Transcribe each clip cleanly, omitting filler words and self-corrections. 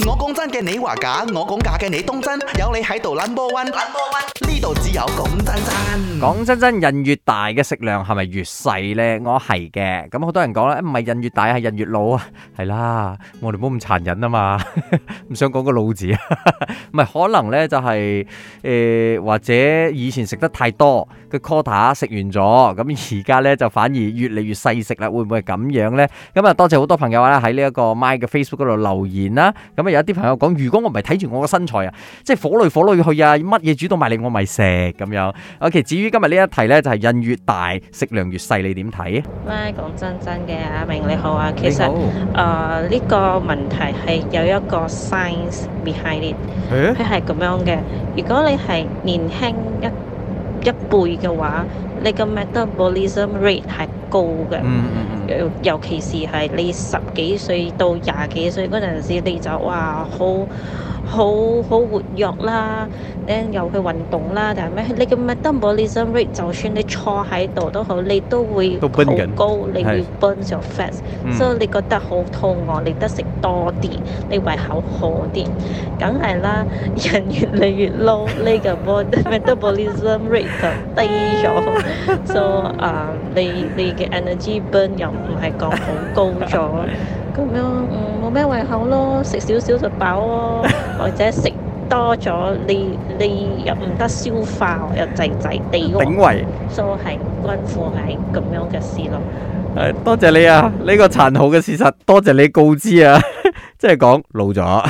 我講真嘅，你話假；我講假嘅，你當真。有你喺度 number one，呢度只有講真真。 講真真，人越大嘅食量係咪越細呢？我係嘅。咁好多人講咧，唔係人越大係人越老啊。係啦，我哋唔好咁殘忍啊嘛，唔想講個老字啊。唔係可能呢就係或者以前食得太多嘅 quota 食完咗，咁而家呢就反而越嚟越細食啦。會唔會係咁樣呢？咁啊，多謝好多朋友啦喺呢一個 My 嘅 Facebook 嗰度留言啦。咁啊，有啲朋友講，如果我唔係睇住我個身材啊，即係火裏去啊，乜嘢煮到埋嚟我咪食咁樣。OK， 至於今日呢一題呢，就係人越大食量越細，你點睇？ 咪講真真嘅，阿明你好啊，其實呢個問題係有一個 science behind it，佢係咁樣嘅。如果你係年輕一輩嘅話，你個 metabolism rate 係高嘅，尤其是係你10幾歲到20幾歲嗰陣時，你就哇好活躍啦，又去運動啦，但係咩？你嘅 metabolism rate 就算你坐喺度都好，你都會好高，你會 burn your fats，所以你覺得好肚餓，你得食多啲，你胃口好啲，梗係啦。人越嚟越老，你嘅 metabolism rate 就低咗，所以你嘅 energy burn 又唔係講好高咗。咁樣冇咩胃口咯，食少少就飽咯，或者食多咗你又唔得消化，又滯滯地喎， 頂胃， 所以係關乎係咁樣嘅事咯。 多謝你啊！呢個殘酷嘅事實，多謝你告知啊！即係講老咗。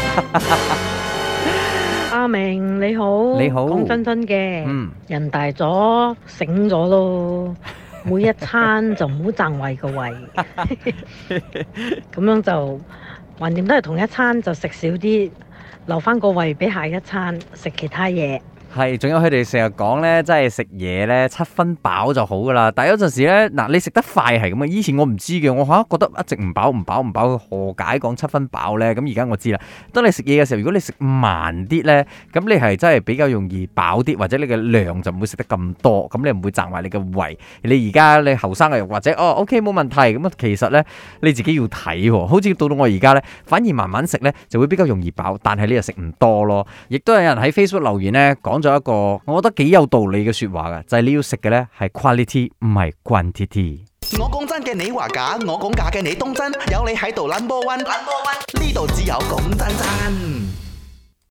阿明你好， 你好， 講真真嘅，人大咗醒咗咯。每一餐就唔好爭胃個胃，咁樣就橫掂都係同一餐，就食少啲，留翻個胃俾下一餐食其他嘢。 係，仲有佢哋成日講咧，真係食嘢咧7分飽就好噶啦。但係有陣時咧，嗱你食得快係咁啊。以前我唔知嘅，我覺得一直唔飽，何解講7分飽咧？咁而家我知啦。當你食嘢嘅時候，如果你食慢啲咧，咁你係真係比較容易飽啲，或者你嘅量就唔會食得咁多，咁你唔會賺埋你嘅胃。你而家你後生嘅或者OK 冇問題，咁啊其實咧你自己要睇喎。好似到我而家咧，反而慢慢食咧就會比較容易飽，但係你又食唔多咯。亦都有人喺 Facebook 留言咧講咗一個我覺得幾有道理嘅說話噶，就係你要食嘅咧係 quality 唔係 quantity。 我講真嘅，你話假；我講假嘅，你當真。有你喺度 number one，呢度只有講真真。